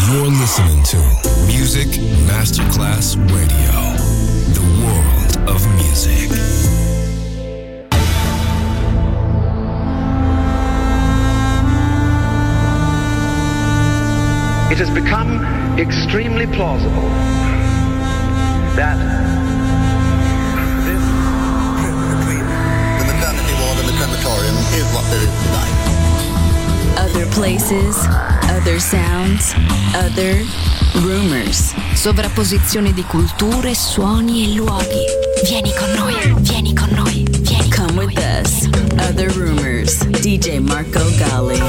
You're listening to Music Masterclass Radio, the world of music. It has become extremely plausible that this between the maternity ward and the crematorium is what there is tonight. Other places, other sounds, other rumors. Sovrapposizione di culture, suoni e luoghi. Vieni con noi, vieni con noi, vieni. Come with us. Other rumors. DJ Marco Gally.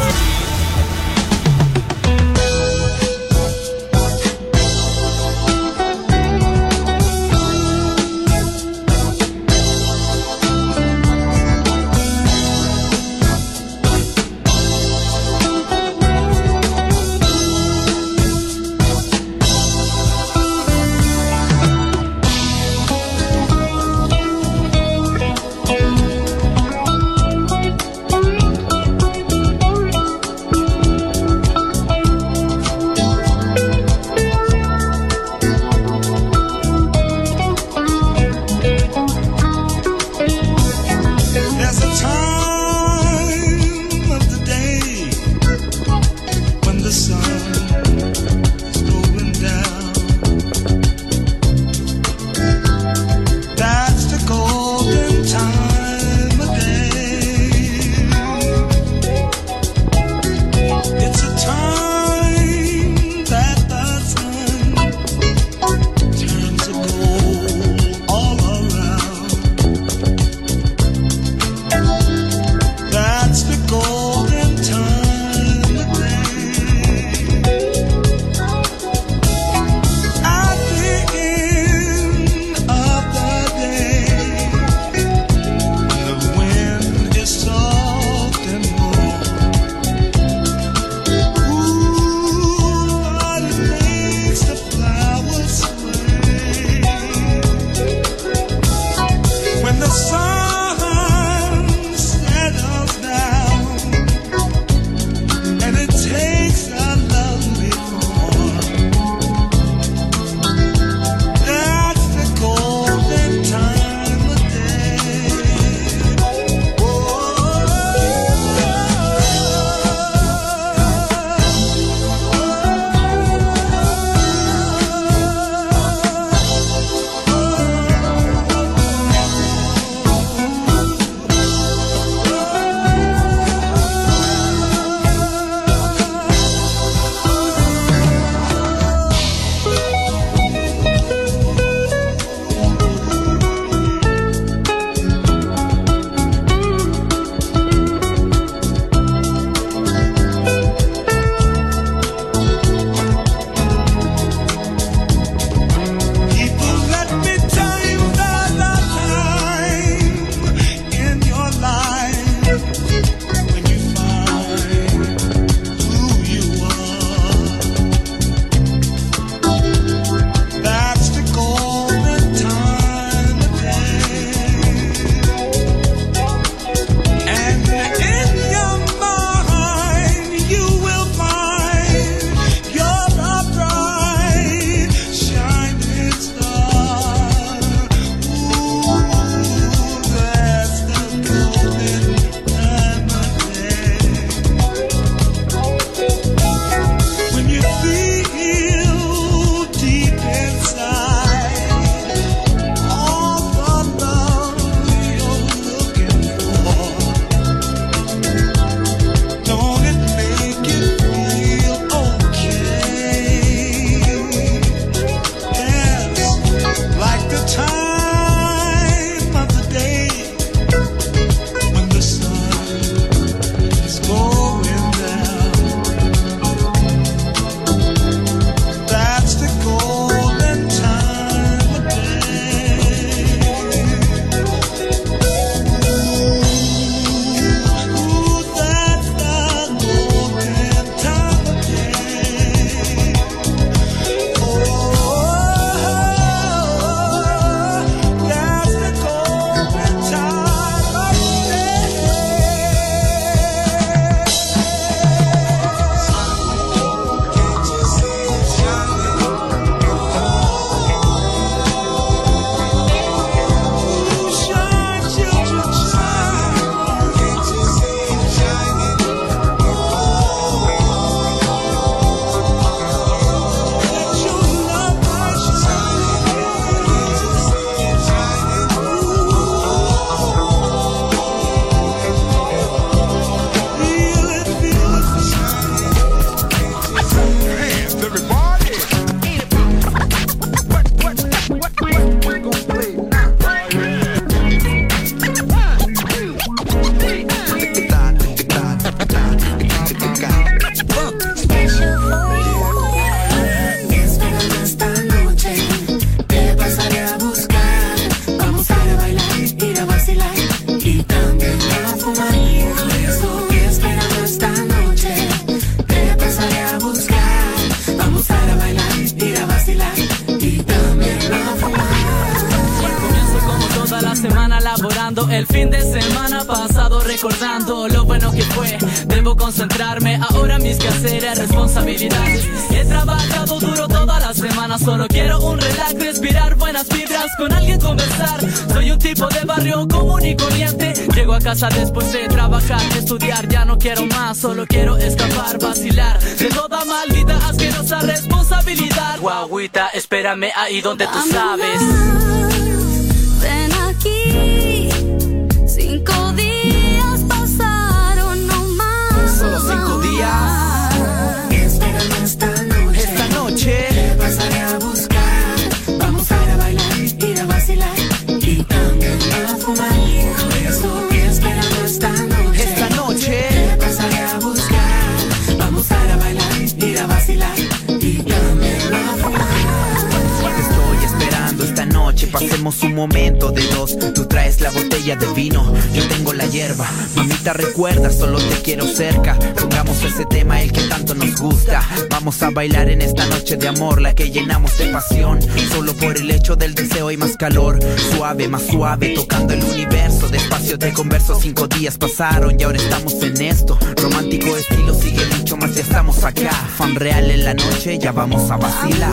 El fin de semana pasado recordando lo bueno que fue. Debo concentrarme ahora en mis quehaceres, responsabilidades. He trabajado duro toda la semana, solo quiero un relax, respirar buenas vibras, con alguien conversar. Soy un tipo de barrio común y corriente. Llego a casa después de trabajar, estudiar, ya no quiero más, solo quiero escapar, vacilar de toda maldita asquerosa responsabilidad. Guaguita, espérame ahí donde tú sabes. Ven aquí, 5 días pasaron no más. Solo 5 días. Espérame esta noche. Te pasaré a buscar. Vamos a ir a bailar, ir a vacilar y también a fumar. Por eso espérame esta noche. Esta noche. Te pasaré a buscar. Vamos a ir a bailar, ir a vacilar y también a fumar. Te estoy esperando esta noche, pasemos un momento de dos. Tú traes la botella de vino, yo tengo la hierba. Mamita, recuerda, solo te quiero cerca. Pongamos ese tema, el que tanto nos gusta. Vamos a bailar en esta noche de amor, la que llenamos de pasión. Solo por el hecho del deseo hay más calor. Suave, más suave, tocando el universo. Despacio te converso, 5 días pasaron y ahora estamos en esto. Romántico estilo, sigue mucho más, ya estamos acá. Fan real en la noche, ya vamos a vacilar.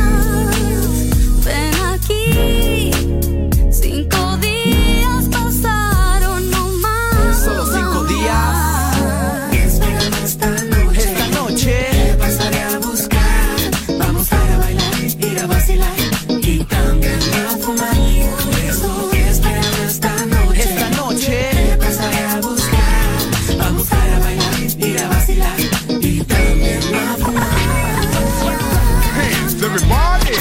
Ven aquí, 5 días pasaron no más. Solo 5 días. Espérame esta noche. Te pasaré a buscar. Vamos a ir a bailar, ir a vacilar y también a fumar. Por eso espérame esta noche. Esta noche. Te pasaré a buscar. Vamos a ir a bailar, ir a vacilar y también a fumar. Hands, everybody.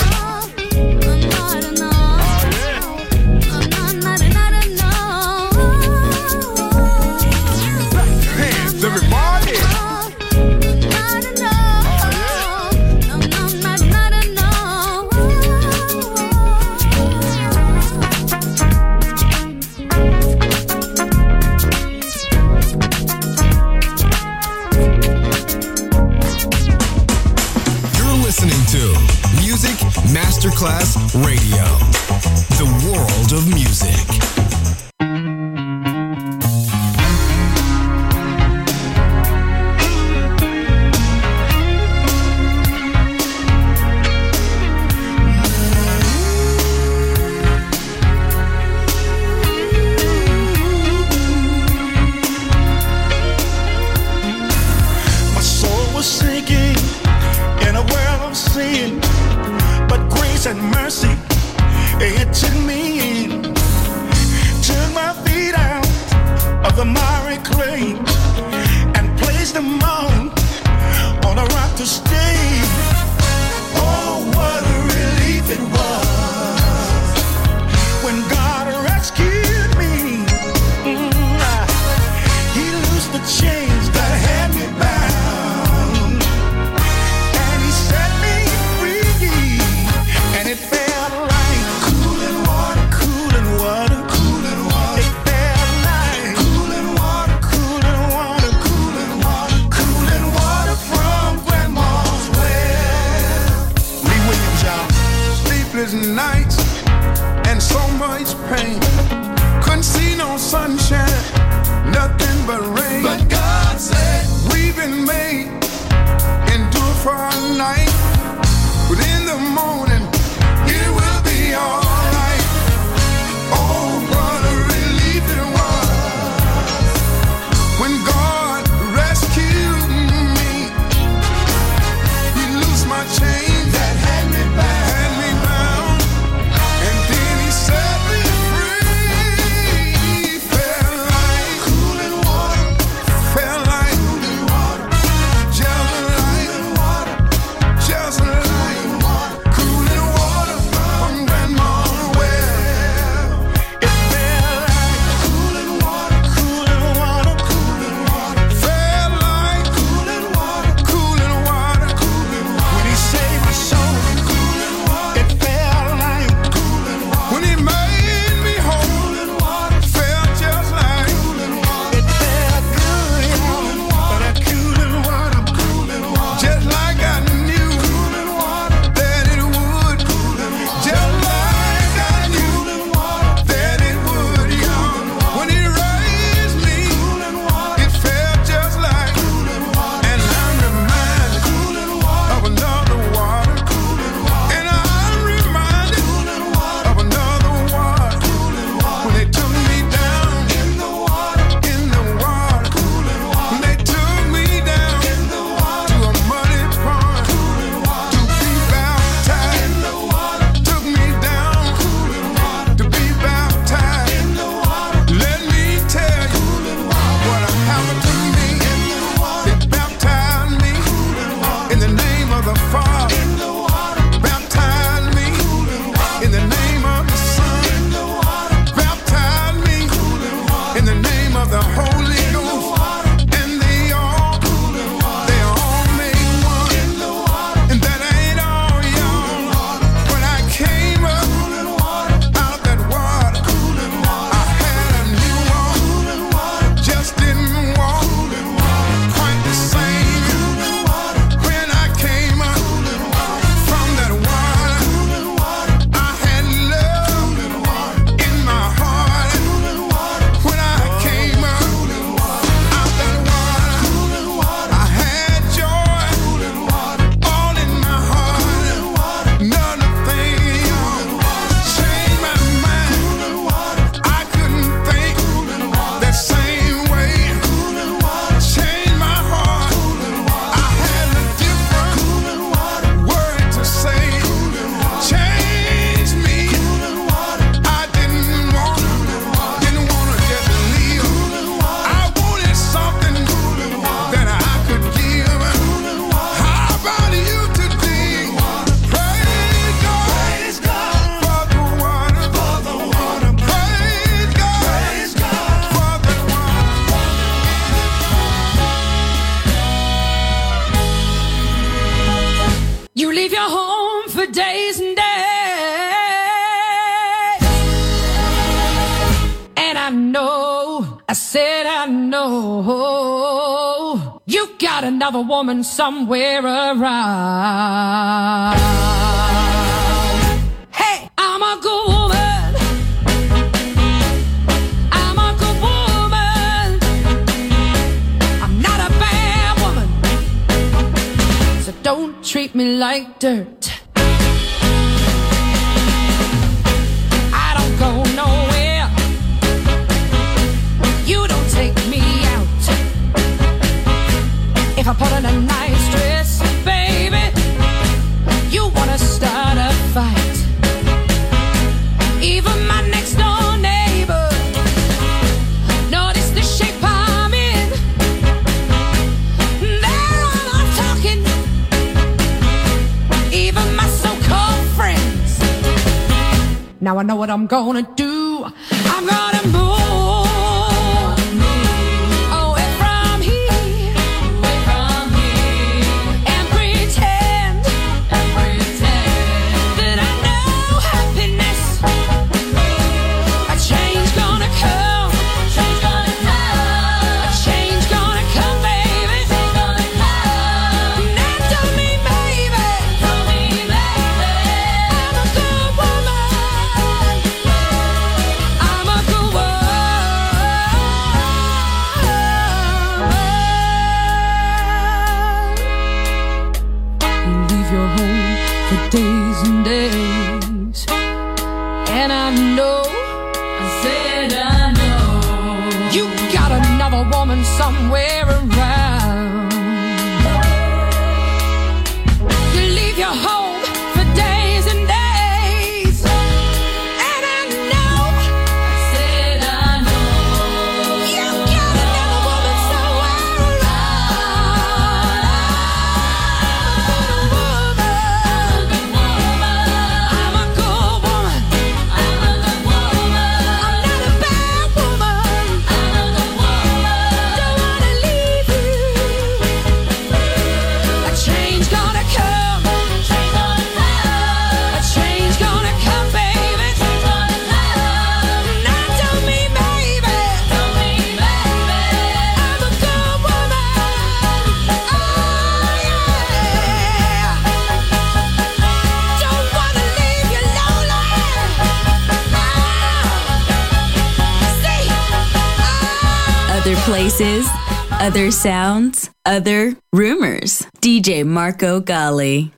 Listening to Music Masterclass Radio, the world of music. My soul was sinking in a world of sin, but grace and mercy, it took me in. Took my feet out of the miry clay and placed them on a rock to stay. Oh, what a relief it was when God rescued me. He loosed the chains that had me bound, and he set me free, and it felt like cooling water, cooling water, cooling water. It felt like cooling water, cooling water, cooling water, cooling water from Grandma's well. Lee Williams, y'all. Sleepless nights and so much pain. Couldn't see no sunshine, nothing but rain. But God said, we've been made, endure for a night, but in the morning, it will be alright. Oh, what a relief it was when God rescued me. He loosed my chains that had me bound, leave your home for days and days. And I know, I said I know, you got another woman somewhere around. Hey, I'm a good woman. I'm a good woman. I'm not a bad woman. So don't treat me like dirt. I don't go nowhere. You don't take me out. If I put on a nice dress, baby, you wanna start a fight. Even my next door neighbor noticed the shape I'm in. They're all talking. Even my so-called friends. Now I know what I'm gonna do. I'm gonna move. Days and days, and I know, I said I know, you got another woman somewhere around. You leave your home for days and days, and I know, I said I know, you got another woman somewhere places, other sounds, other rumors. DJ Marco Gally.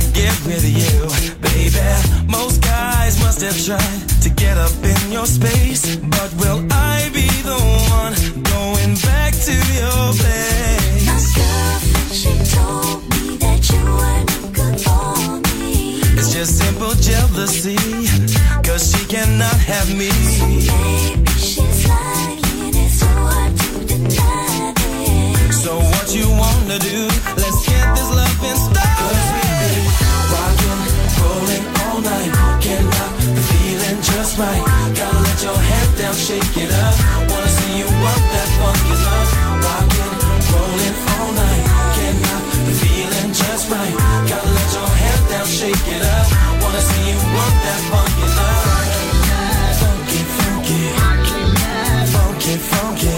get with you, baby. Most guys must have tried to get up in your space, but will I be the one going back to your place? My girlfriend, she told me that you weren't good for me. It's just simple jealousy, 'cause she cannot have me. So maybe she's lying, it's so hard to deny this. So what you wanna do? Let's get this love in style. 'Cause we've been rocking, rolling all night. Can't stop the feeling just right. Gotta let your head down, shake it up. Wanna see you work that funky love. Rocking, rolling all night. Can't stop the feeling just right. Gotta let your head down, shake it up. Wanna see you work that funky love. Funky, funky, funky, funky.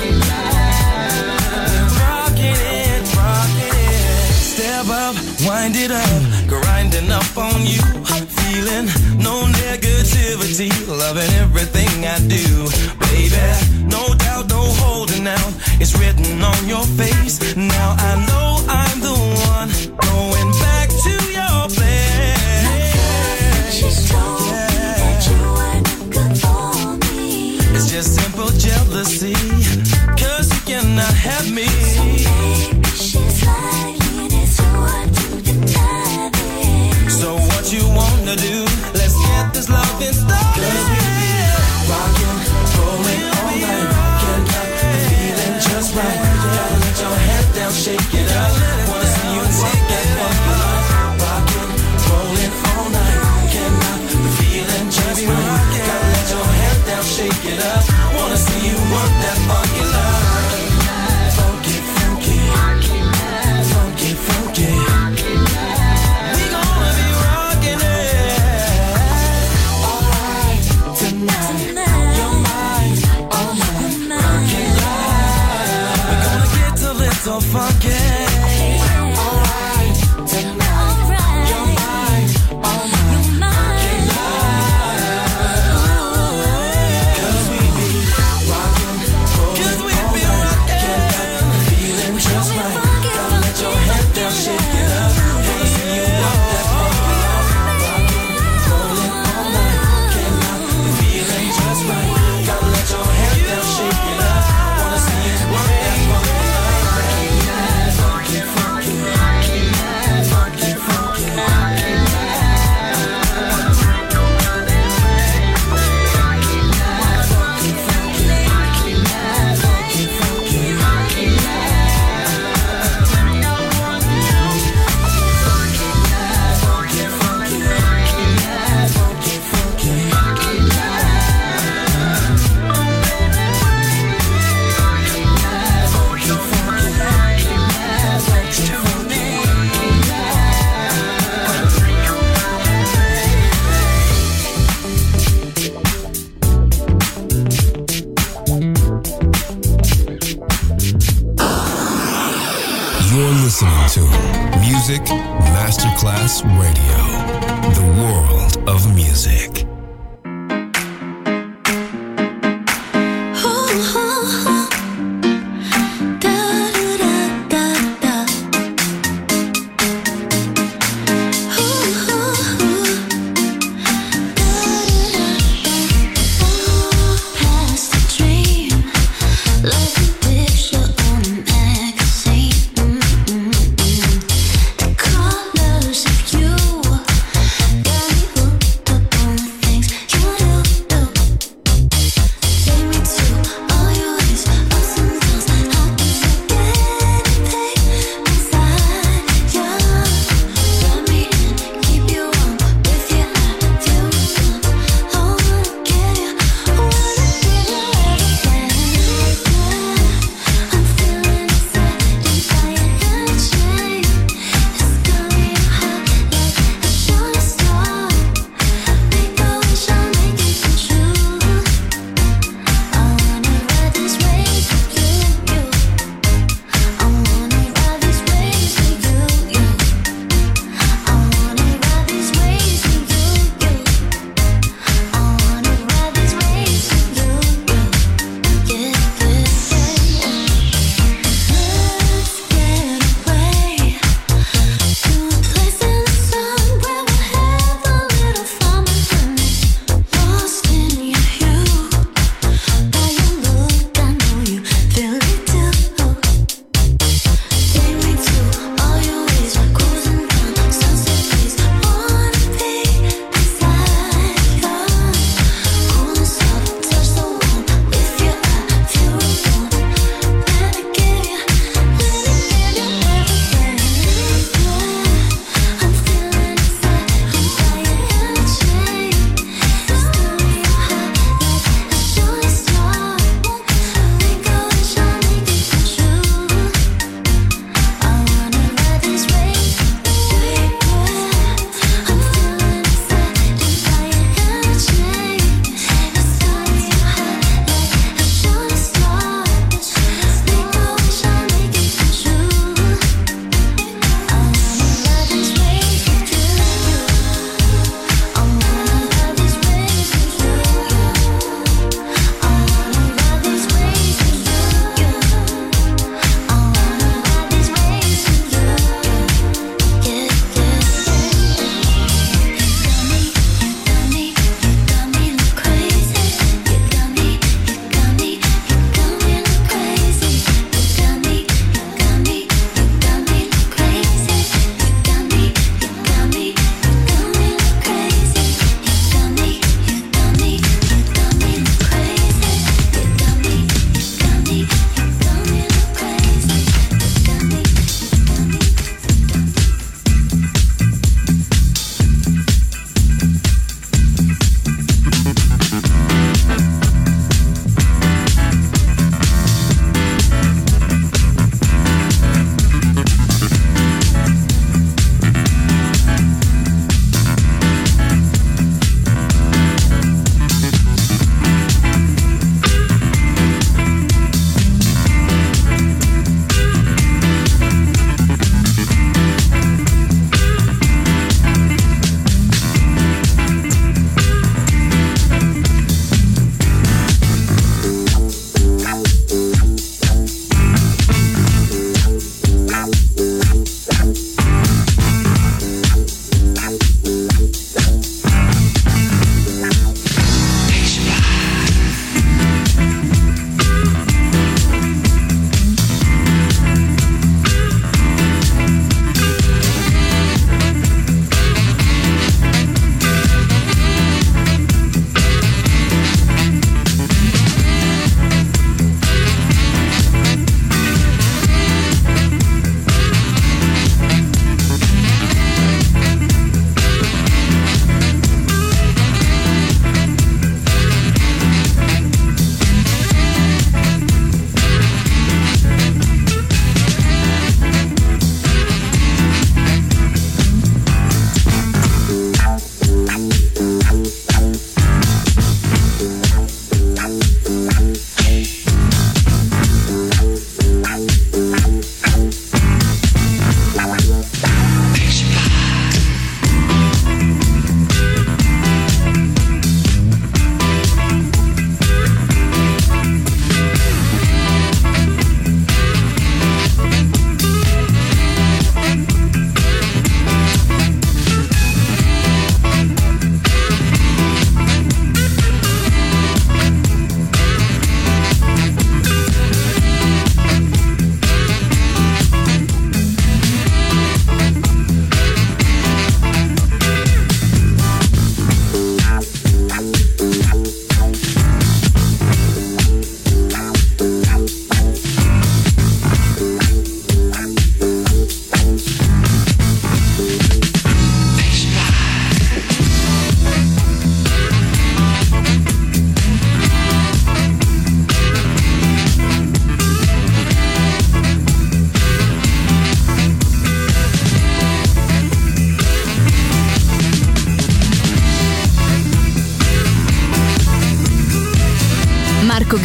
Step up, wind it up, grinding up on you. Feeling no negativity, loving everything I do. Baby, no doubt, no holding out. It's written on your face. Now I know I'm the one going back to your place. She's told me that you weren't good for me. It's just simple jealousy, 'cause you cannot have me. So maybe she's lying, it's so hard to deny this. So what you wanna do? Let's get this love in style. 'Cause we've been rocking, rolling all night. Can't stop the feeling just right. Gotta let your head down, shake it up. Wanna see you work that funky love. Rocking, rolling all night. Can't stop the feeling just right. Gotta let your head down, shake it up. Wanna see you work that funky love. Funky, funky, funky, funky. We gonna be rocking it. Alright, tonight. You're mine, oh my, funky love. We're gonna get a little funky. Alright, tonight. You're mine, oh my, funky love. 'Cause we be rocking, rolling all night. Can't stop the feeling just right. Gotta let your head down, shake it up. Wanna see you work that funky love. Rocking, rolling all night. Can't stop the feeling just right. Gotta let your head down, shake it up. Wanna see you work that funky love. Funky, funky, funky, funky. You're listening to Music Masterclass Radio, the world of music. Past the dream, like a picture on a magazine. The colors of you got me hooked up on the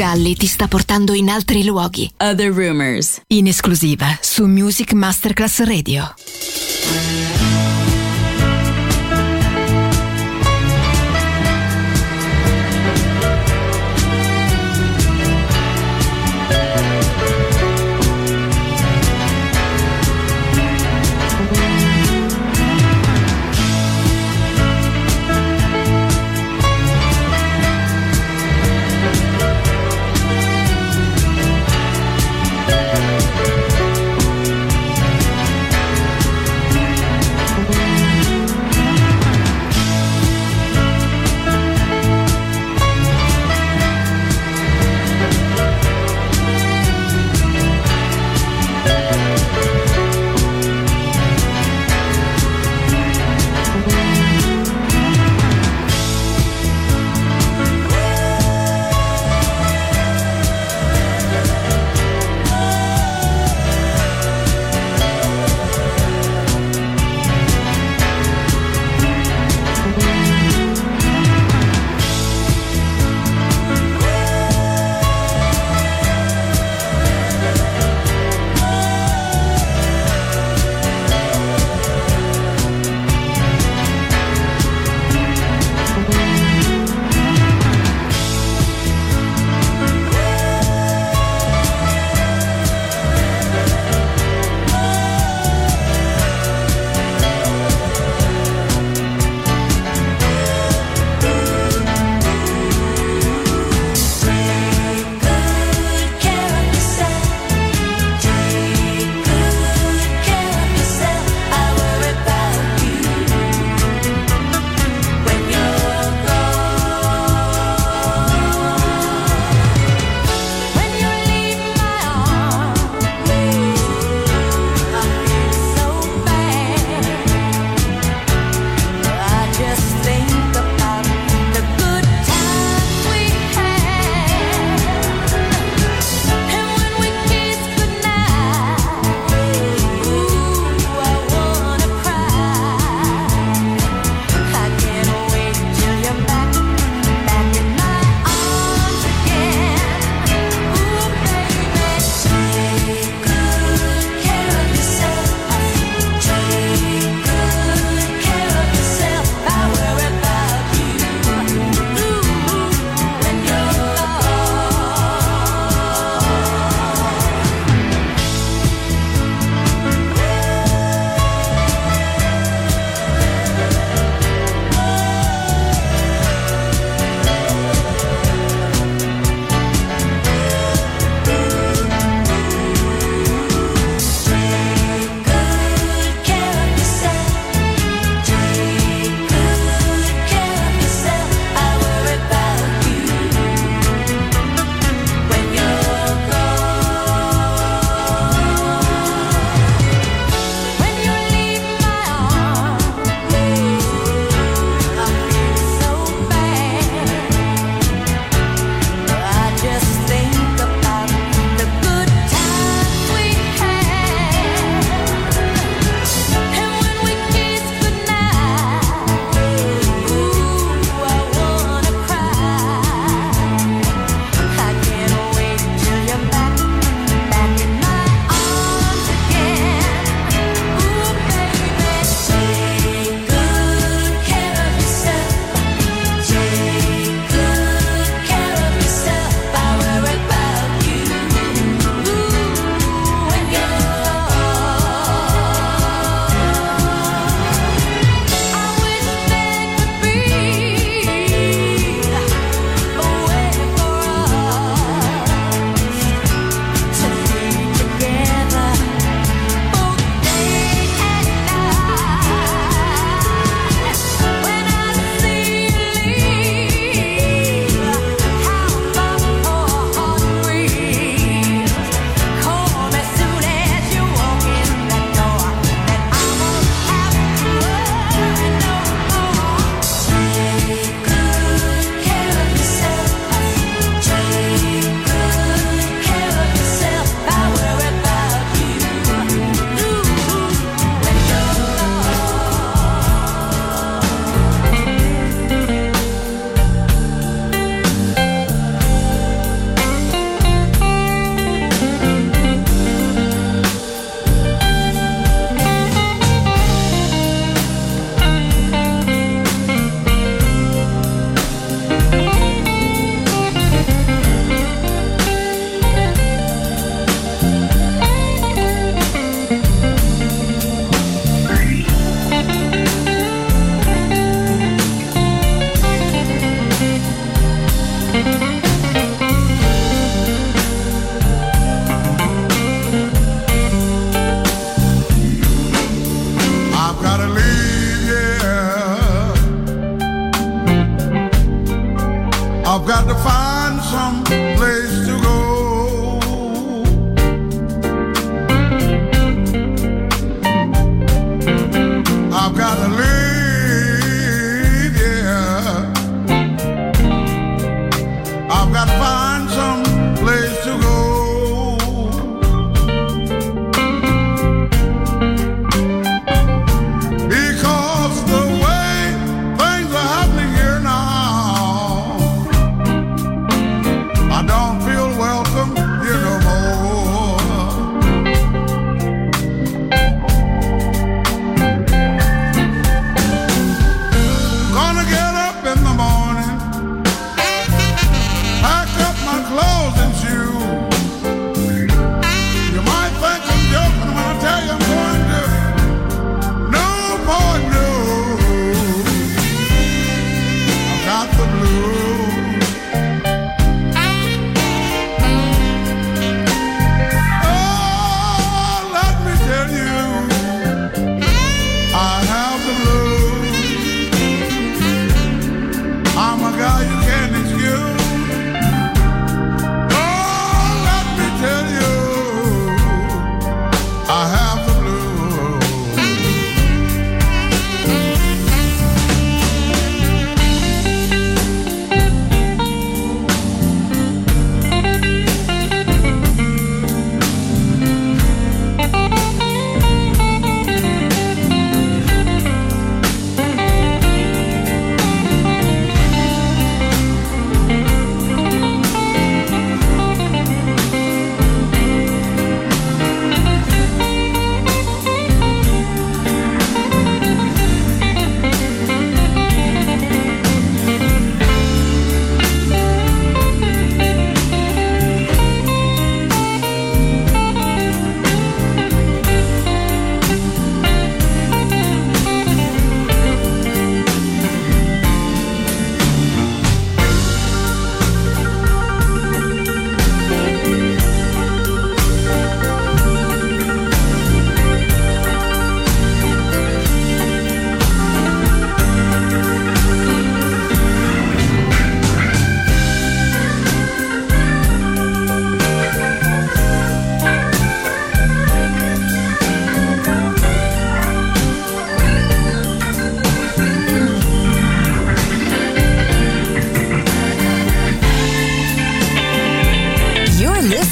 Galli ti sta portando in altri luoghi. Other Rumors. In esclusiva su Music Masterclass Radio.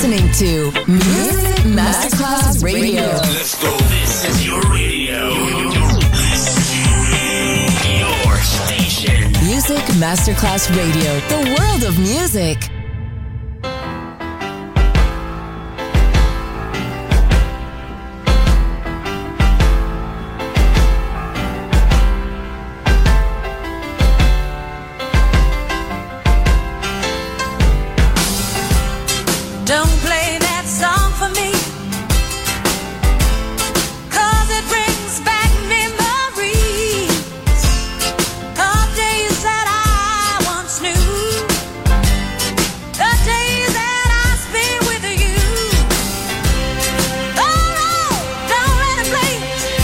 listening to Music Masterclass Radio. Let's go. This is your radio. Your station. Music Masterclass Radio. The world of music. Don't play that song for me, 'cause it brings back memories of days that I once knew, the days that I spent with you. Oh no, don't let it play.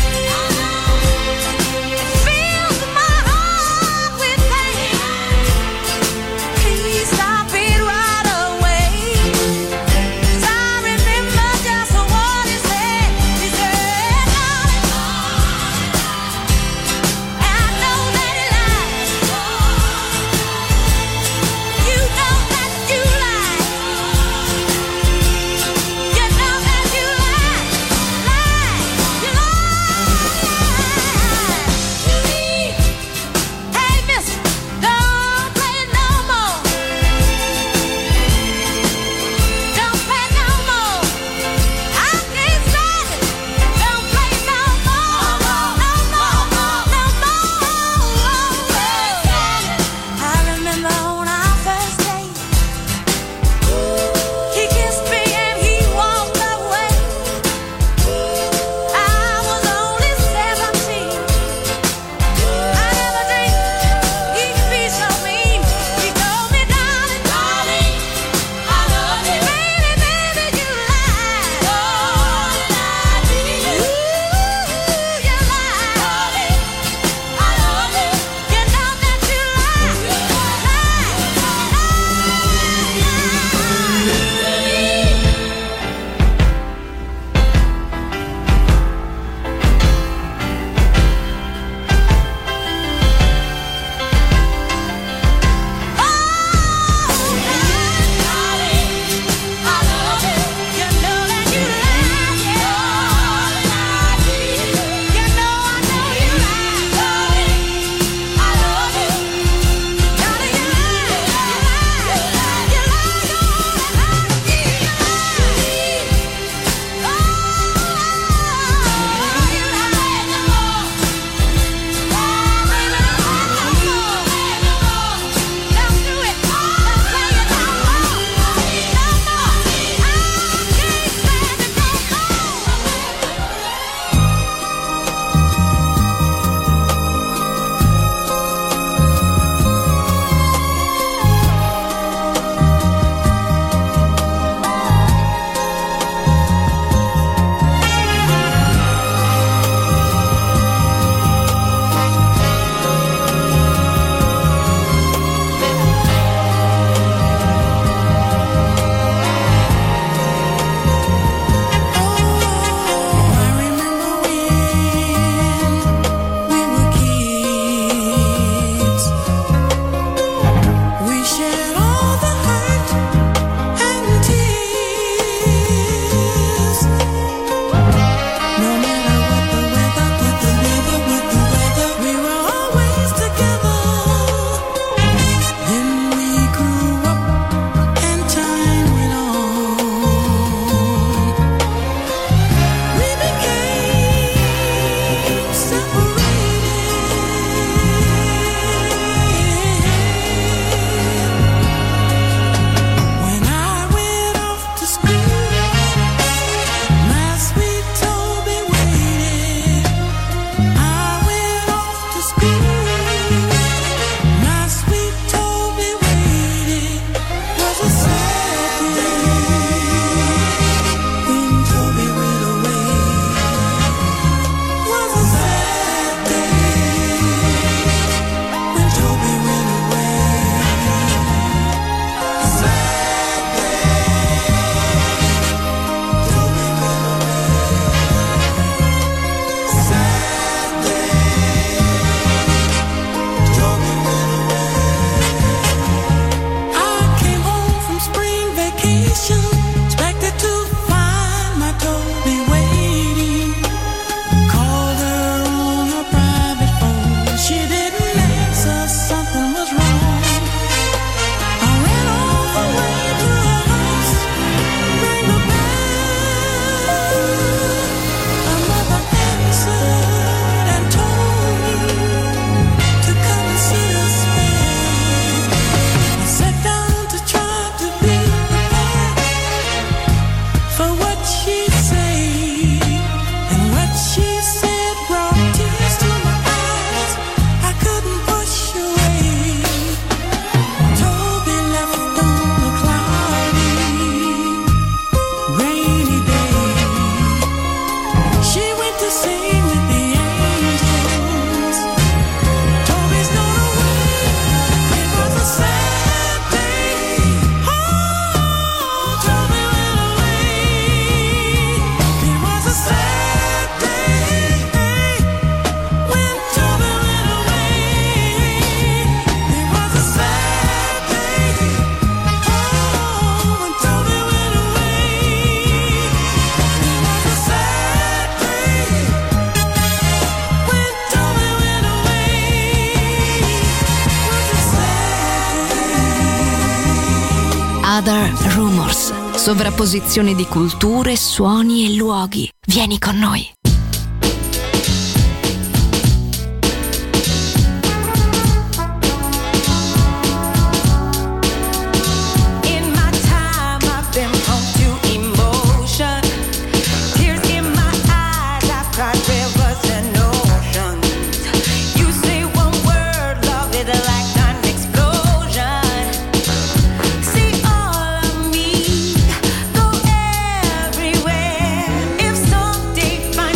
It fills my heart with pain. Please stop it right away. 'Cause Force. Sovrapposizione di culture, suoni e luoghi. Vieni con noi. Everywhere. If someday find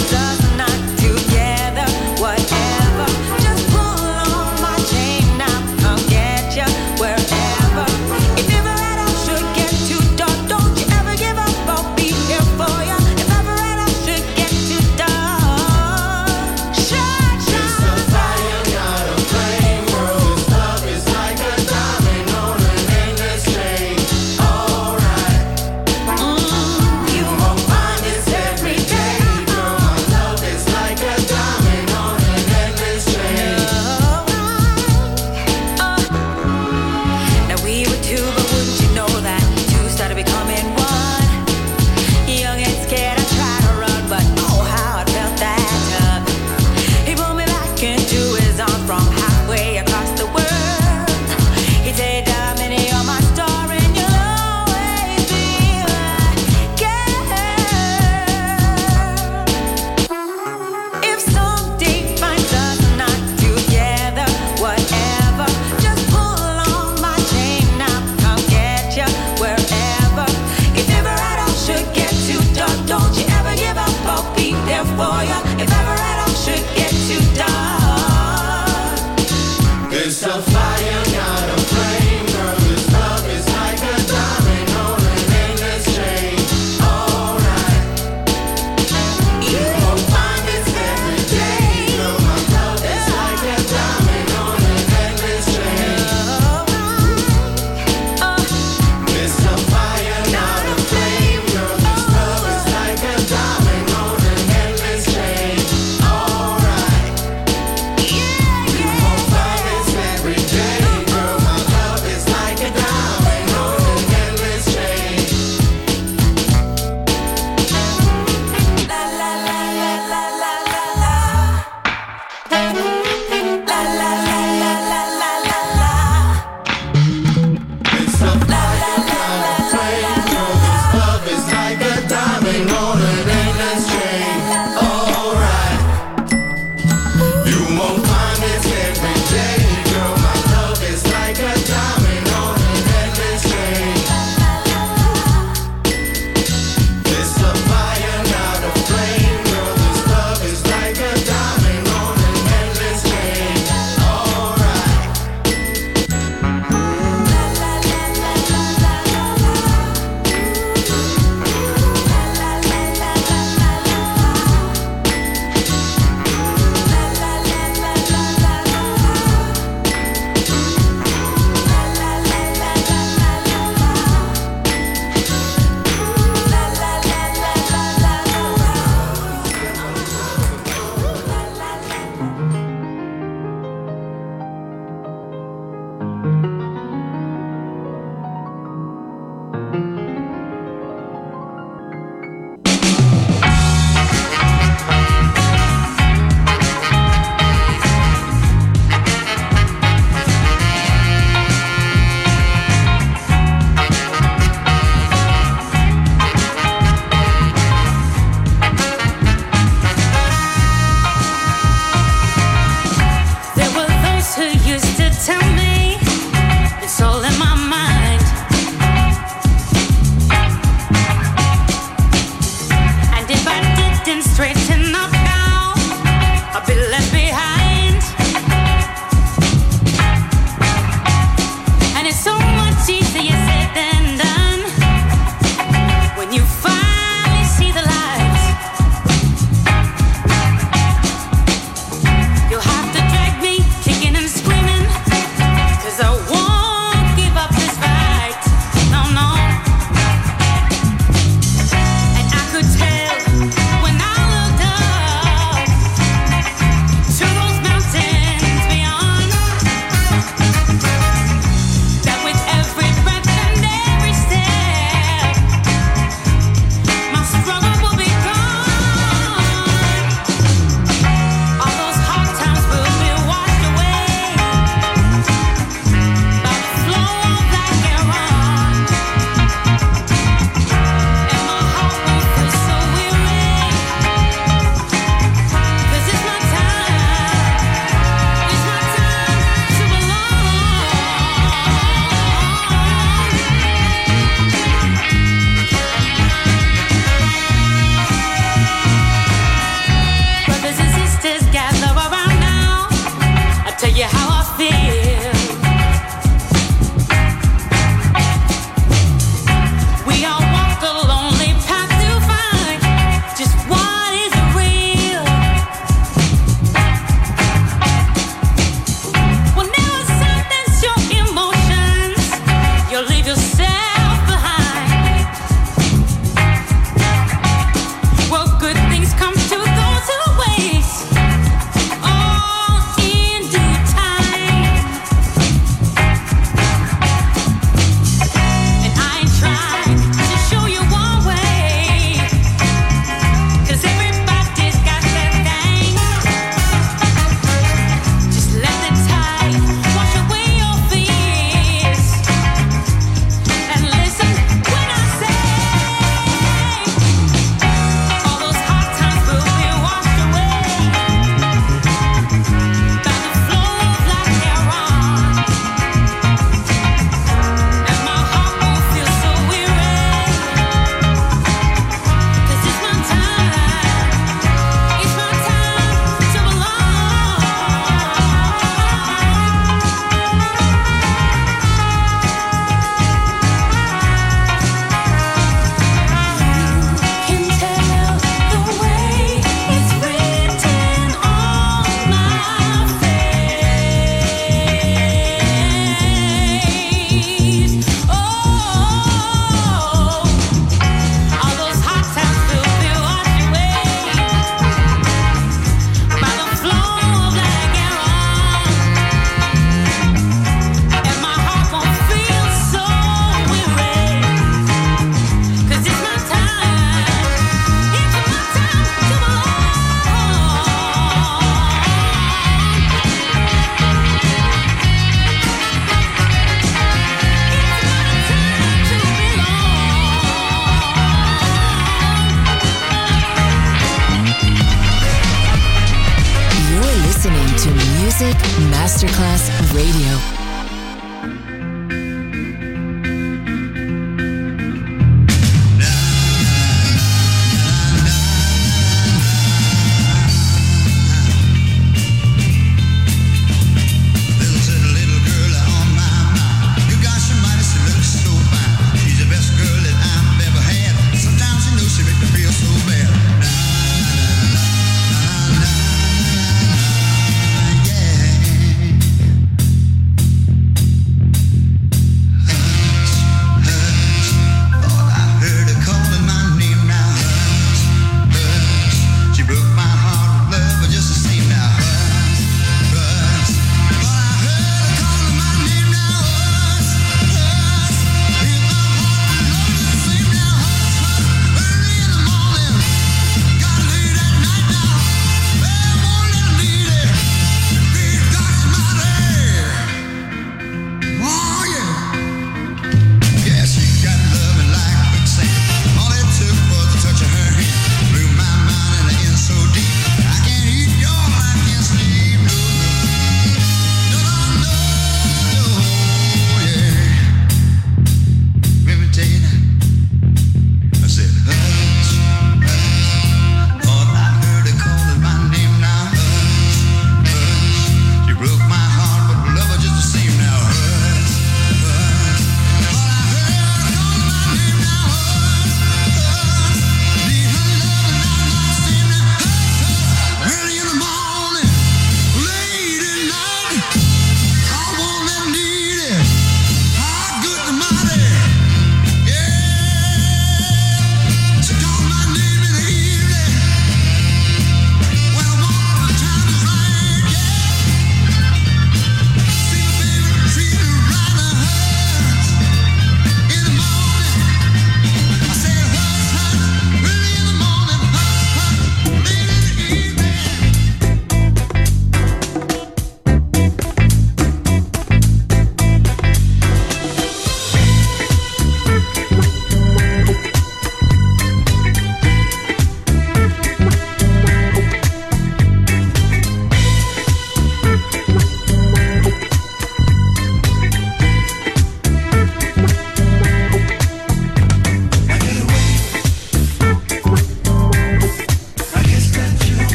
Music Masterclass Radio.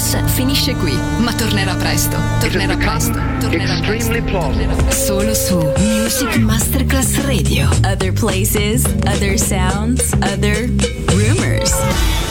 House finisce qui, ma tornerà presto. Tornerà presto. Extremely plausible. Solo su Music Masterclass Radio. Other places, other sounds, other rumors.